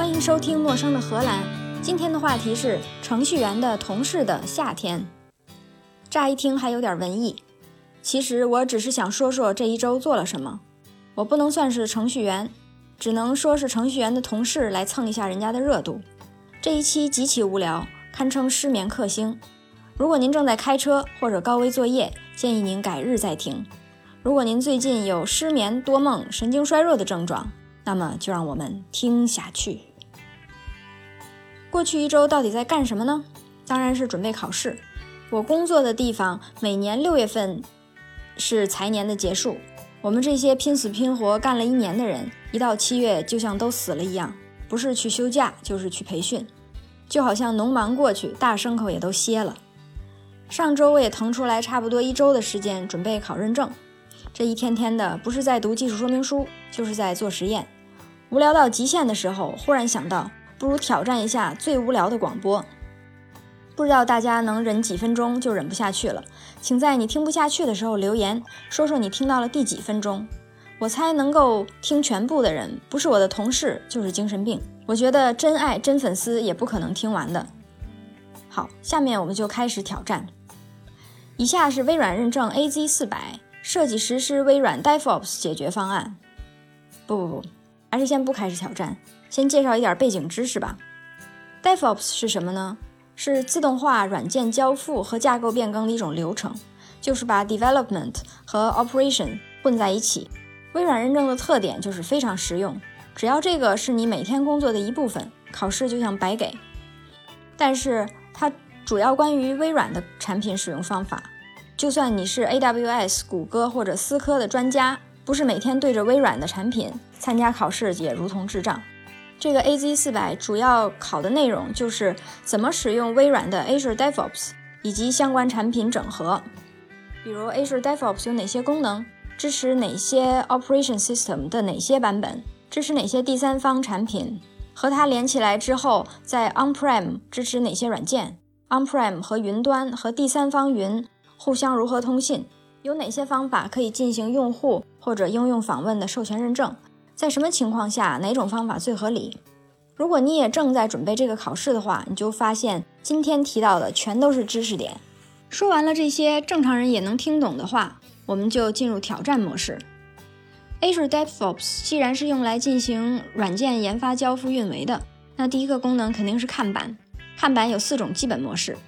欢迎收听陌生的荷兰。今天的话题是程序员的同事的夏天。乍一听还有点文艺，其实我只是想说说这一周做了什么。我不能算是程序员，只能说是程序员的同事来蹭一下人家的热度。这一期极其无聊，堪称失眠克星。如果您正在开车或者高危作业，建议您改日再听。如果您最近有失眠、多梦、神经衰弱的症状，那么就让我们听下去。过去一周到底在干什么呢？当然是准备考试。我工作的地方每年6月份是财年的结束，我们这些拼死拼活干了1年的人，一到7月就像都死了一样，不是去休假就是去培训，就好像农忙过去，大牲口也都歇了。上周我也腾出来差不多1周的时间准备考认证，这一天天的不是在读技术说明书，就是在做实验。无聊到极限的时候，忽然想到不如挑战一下最无聊的广播。不知道大家能忍几分钟就忍不下去了，请在你听不下去的时候留言，说说你听到了第几分钟。我猜能够听全部的人，不是我的同事就是精神病。我觉得真爱真粉丝也不可能听完的。好，下面我们就开始挑战。以下是微软认证 AZ400 设计实施微软 DevOps 解决方案。不，还是先不开始挑战，先介绍一点背景知识吧。DevOps 是什么呢？是自动化软件交付和架构变更的一种流程，就是把 development 和 operation 混在一起。微软认证的特点就是非常实用，只要这个是你每天工作的一部分，考试就像白给。但是它主要关于微软的产品使用方法，就算你是 AWS、谷歌或者思科的专家，不是每天对着微软的产品参加考试也如同智障。这个 AZ400 主要考的内容就是怎么使用微软的 Azure DevOps 以及相关产品整合，比如 Azure DevOps 有哪些功能，支持哪些 Operation System 的哪些版本，支持哪些第三方产品，和它连起来之后在 On-Prem 支持哪些软件， On-Prem 和云端和第三方云互相如何通信，有哪些方法可以进行用户或者应用访问的授权认证，在什么情况下哪种方法最合理。如果你也正在准备这个考试的话，你就发现今天提到的全都是知识点。说完了这些正常人也能听懂的话，我们就进入挑战模式。Azure DevOps 既然是用来进行软件研发交付运维的，那第一个功能肯定是看板。看板有4种基本模式：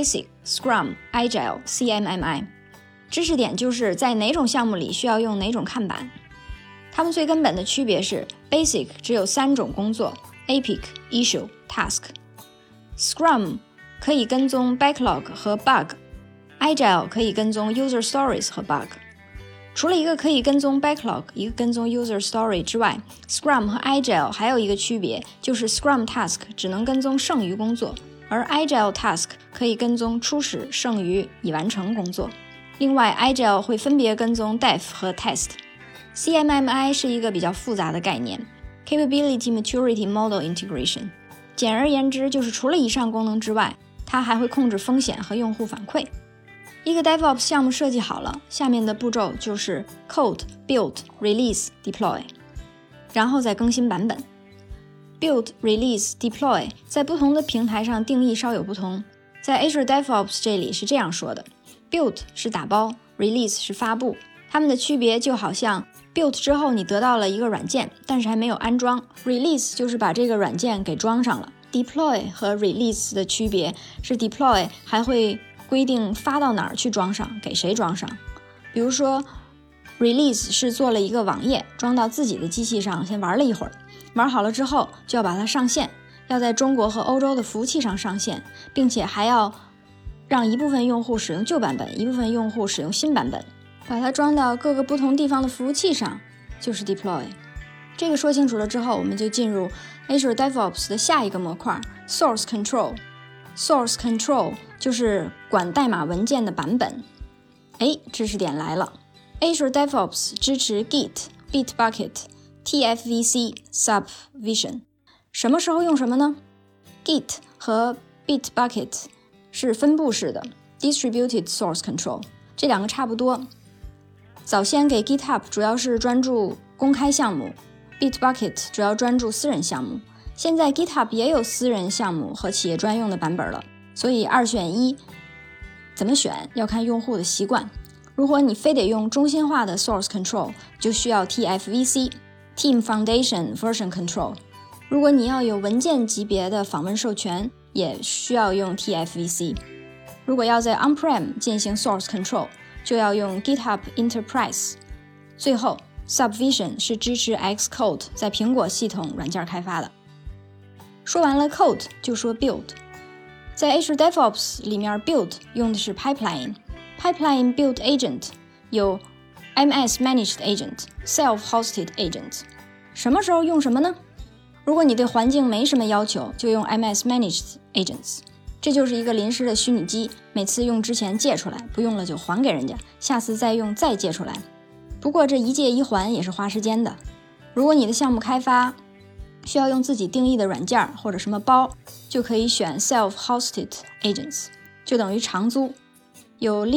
Basic、Scrum、Agile、CMMI。 知识点就是在哪种项目里需要用哪种看板。它们最根本的区别是 Basic 只有3种工作， Epic、Issue、Task。 Scrum 可以跟踪 Backlog 和 Bug， Agile 可以跟踪 User Stories 和 Bug。 除了一个可以跟踪 Backlog， 一个跟踪 User Story 之外， Scrum 和 Agile 还有一个区别，就是 Scrum Task 只能跟踪剩余工作，而 Agile Task 可以跟踪初始、剩余、已完成工作。另外 Agile 会分别跟踪 Dev 和 Test。CMMI 是一个比较复杂的概念， Capability Maturity Model Integration。 简而言之，就是除了以上功能之外，它还会控制风险和用户反馈。一个 DevOps 项目设计好了，下面的步骤就是 Code、Build、Release、Deploy， 然后再更新版本。Build、Release、Deploy 在不同的平台上定义稍有不同。在 Azure DevOps 这里是这样说的： Build 是打包， Release 是发布。它们的区别就好像 Build 之后你得到了一个软件，但是还没有安装， Release 就是把这个软件给装上了。 Deploy 和 Release 的区别是 Deploy 还会规定发到哪儿去装上，给谁装上。比如说 Release 是做了一个网页，装到自己的机器上先玩了一会儿，玩好了之后就要把它上线，要在中国和欧洲的服务器上上线，并且还要让一部分用户使用旧版本，一部分用户使用新版本，把它装到各个不同地方的服务器上，就是 Deploy。 这个说清楚了之后，我们就进入 Azure DevOps 的下一个模块 Source Control。Source Control 就是管代码文件的版本。知识点来了， Azure DevOps 支持 Git、Bitbucket、TFVC、Subvision。 什么时候用什么呢？ Git 和 Bitbucket 是分布式的 Distributed Source Control， 这两个差不多。早先给 GitHub 主要是专注公开项目， Bitbucket 主要专注私人项目。 现在 GitHub 也有私人项目和企业专用的版本了，所以2选1，怎么选要看用户的习惯。如果你非得用中心化的 source control， 就需要 TFVC Team Foundation Version Control。 如果你要有文件级别的访问授权，也需要用 TFVC。 如果要在 On-Prem 进行 source control， 就要用 GitHub Enterprise。 最后 Subvision 是支持 Xcode 在苹果系统软件开发的。说完了 Code， 就说 Build。 在 Azure DevOps 里面 Build 用的是 Pipeline Build Agent， 有 MS Managed Agent Self-Hosted Agent。 什么时候用什么呢？如果你对环境没什么要求，就用 MS Managed Agents， 这就是一个临时的虚拟机，每次用之前借出来，不用了就还给人家，下次再用再借出来。不过这一借一还也是花时间的。如果你的项目开发需要用自己定义的软件或者什么包，就可以选 Self-Hosted Agents， 就等于长租，有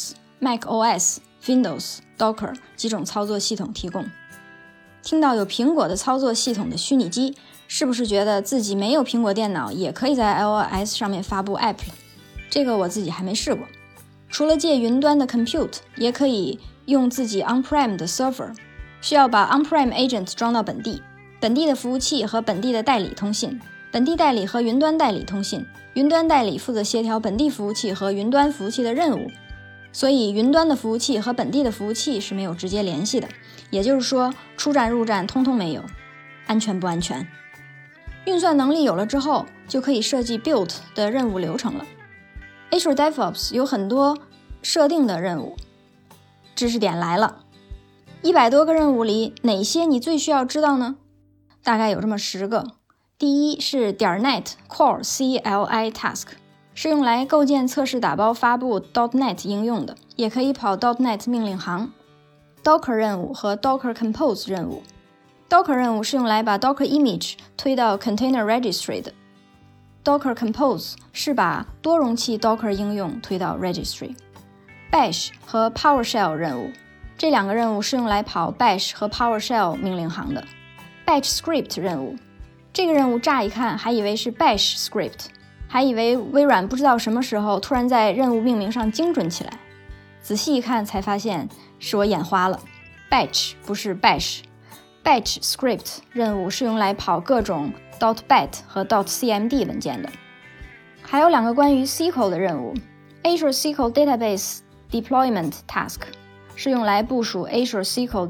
Linux、macOS、Windows、Docker 几种操作系统提供。听到有苹果的操作系统的虚拟机，是不是觉得自己没有苹果电脑也可以在 iOS 上面发布 App？ 这个我自己还没试过。除了借云端的 Compute， 也可以用自己 On-Prem 的 Server， 需要把 On-Prem Agent 装到本地的服务器和本地的代理通信，本地代理和云端代理通信，云端代理负责协调本地服务器和云端服务器的任务，所以云端的服务器和本地的服务器是没有直接联系的，也就是说出站入站通通没有。安全不安全？运算能力有了之后，就可以设计 Build 的任务流程了。Azure DevOps 有很多设定的任务，知识点来了。100多个任务里，哪些你最需要知道呢？大概有这么10个。第一是 .NET Core CLI Task， 是用来构建、测试、打包、发布 .NET 应用的，也可以跑 .NET 命令行。Docker 任务和 Docker Compose 任务。Docker 任务是用来把 Docker Image 推到 Container Registry 的。Docker Compose 是把多容器 Docker 应用推到 Registry。Bash 和 PowerShell 任务，这2个任务是用来跑 Bash 和 PowerShell 命令行的。Batch Script 任务，这个任务乍一看还以为是 Bash Script， 还以为微软不知道什么时候突然在任务命名上精准起来，仔细一看才发现是我眼花了， Batch 不是 Bash。Batch Script 任务是用来跑各种 .bat 和 .cmd 文件的。还有2个关于 SQL 的任务。Azure SQL Database Deployment Task 是用来部署 Azure SQL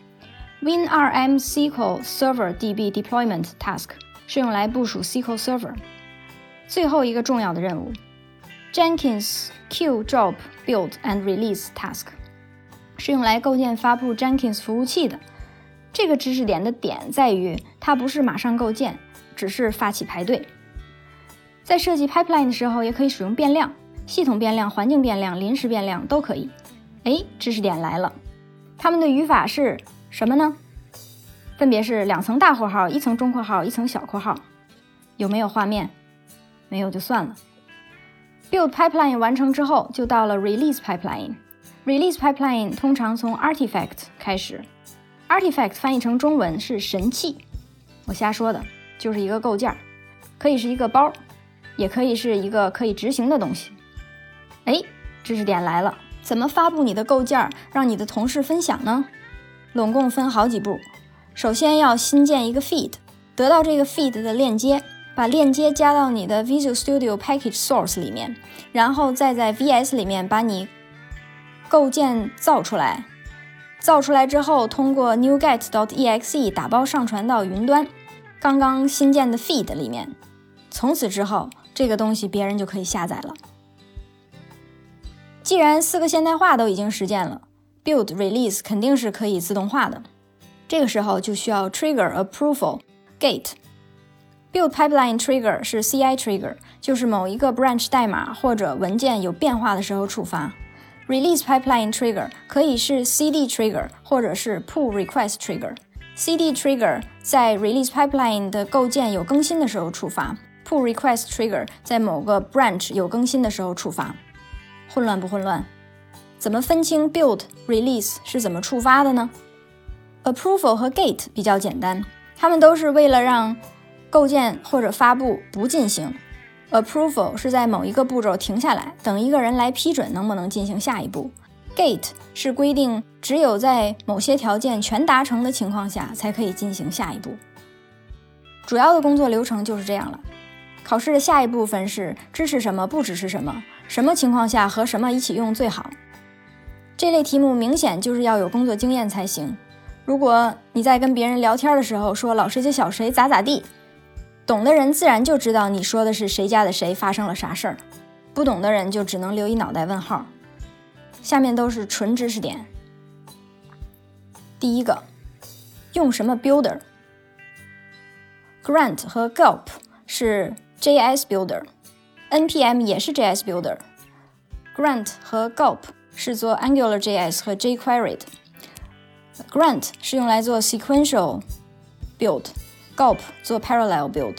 DB。WinRM SQL Server DB Deployment Task 是用来部署 SQL Server。最后一个重要的任务 Jenkins Q Job Build and Release Task 是用来构建发布 Jenkins 服务器的。这个知识点的点在于，它不是马上构建，只是发起排队。在设计 pipeline 的时候，也可以使用变量，系统变量、环境变量、临时变量都可以。知识点来了，它们的语法是什么呢？分别是2层大括号、1层中括号、1层小括号。有没有画面？没有就算了。Build pipeline 完成之后，就到了 Release pipeline。Release pipeline 通常从 Artifact 开始。Artifact 翻译成中文是神器，我瞎说的，就是一个构件，可以是一个包，也可以是一个可以执行的东西。知识点来了，怎么发布你的构件，让你的同事分享呢？拢共分好几步。首先要新建一个 feed， 得到这个 feed 的链接，把链接加到你的 Visual Studio Package Source 里面，然后再在 VS 里面把你构件造出来。造出来之后，通过 NuGet.exe 打包上传到云端，刚刚新建的 feed 里面。从此之后，这个东西别人就可以下载了。既然4个现代化都已经实践了， Build Release 肯定是可以自动化的。这个时候就需要 Trigger Approval Gate。Build Pipeline Trigger 是 CI Trigger， 就是某一个 branch 代码或者文件有变化的时候触发。Release Pipeline Trigger 可以是 CD Trigger 或者是 Pull Request Trigger。CD Trigger 在 Release Pipeline 的构建有更新的时候触发， Pull Request Trigger 在某个 branch 有更新的时候触发。混乱不混乱？怎么分清 Build Release 是怎么触发的呢？ Approval 和 Gate 比较简单，它们都是为了让构建或者发布不进行。Approval 是在某一个步骤停下来，等一个人来批准能不能进行下一步。Gate 是规定只有在某些条件全达成的情况下才可以进行下一步。主要的工作流程就是这样了。考试的下一部分是支持什么不支持什么，什么情况下和什么一起用最好。这类题目明显就是要有工作经验才行。如果你在跟别人聊天的时候说老谁谁小谁咋咋地，懂的人自然就知道你说的是谁家的谁发生了啥事儿，不懂的人就只能留一脑袋问号。下面都是纯知识点。第一个，用什么 builder？ Grant 和 Gulp 是 JS builder， NPM 也是 JS builder。 Grant 和 Gulp 是做 AngularJS 和 jQuery 的。 Grant 是用来做 sequential build， Gulp 做 parallel build，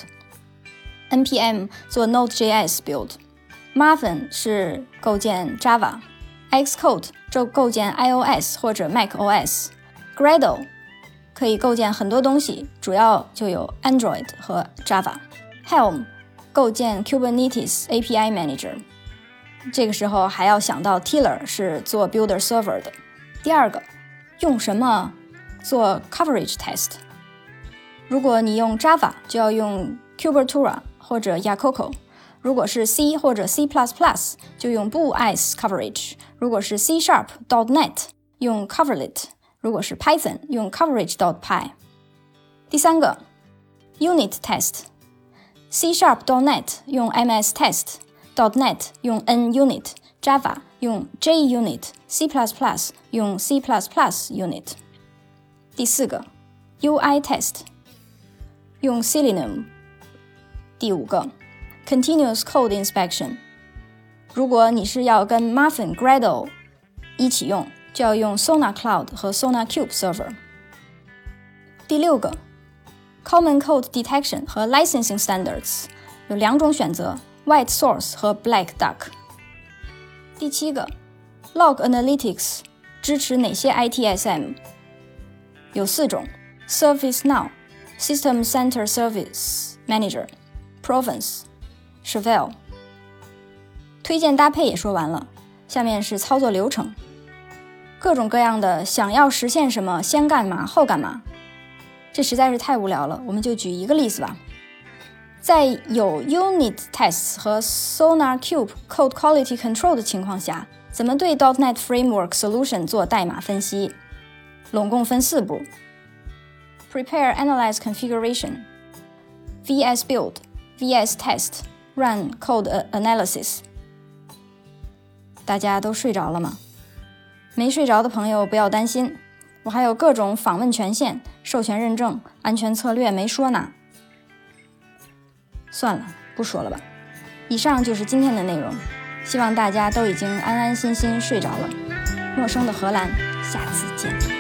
NPM 做 Node.js build。 Maven 是构建 Java， Xcode 就构建 iOS 或者 macOS， Gradle 可以构建很多东西，主要就有 Android 和 Java。 Helm 构建 Kubernetes API Manager， 这个时候还要想到 Tiller 是做 Builder Server 的。第二个，用什么做 Coverage Test？ 如果你用 Java 就要用 Kubertura 或者 Yakoko， 如果是 C 或者 C++ 就用 BoolEyes Coverage， 如果是 C#.NET 用 Coverlet， 如果是 Python 用 Coverage.py。 第三个 Unit Test， C#.NET 用 MS Test，.NET 用 NUnit， Java 用 JUnit， C++ 用 C++ Unit。 第四个 UI Test 用 Selenium。 第五个 Continuous Code Inspection， 如果你是要跟 Maven、Gradle 一起用，就要用 SonarCloud 和 SonarCube Server。 第六个 Common Code Detection 和 Licensing Standards， 有两种选择， White Source 和 Black Duck。 第七个 Log Analytics 支持哪些 ITSM？ 有4种， ServiceNow、 System Center Service Manager、 Provence、 Chevelle。 推荐搭配也说完了，下面是操作流程。各种各样的想要实现什么先干嘛后干嘛，这实在是太无聊了，我们就举一个例子吧。在有 Unit Tests 和 SonarCube Code Quality Control 的情况下，怎么对 .NET Framework Solution 做代码分析？拢共分4步： Prepare Analyze Configuration、 VS Build、 VS Test、 Run Code Analysis。 大家都睡着了吗？没睡着的朋友不要担心，我还有各种访问权限、授权认证、安全策略没说呢。算了，不说了吧。以上就是今天的内容，希望大家都已经安安心心睡着了。陌生的荷兰，下次见。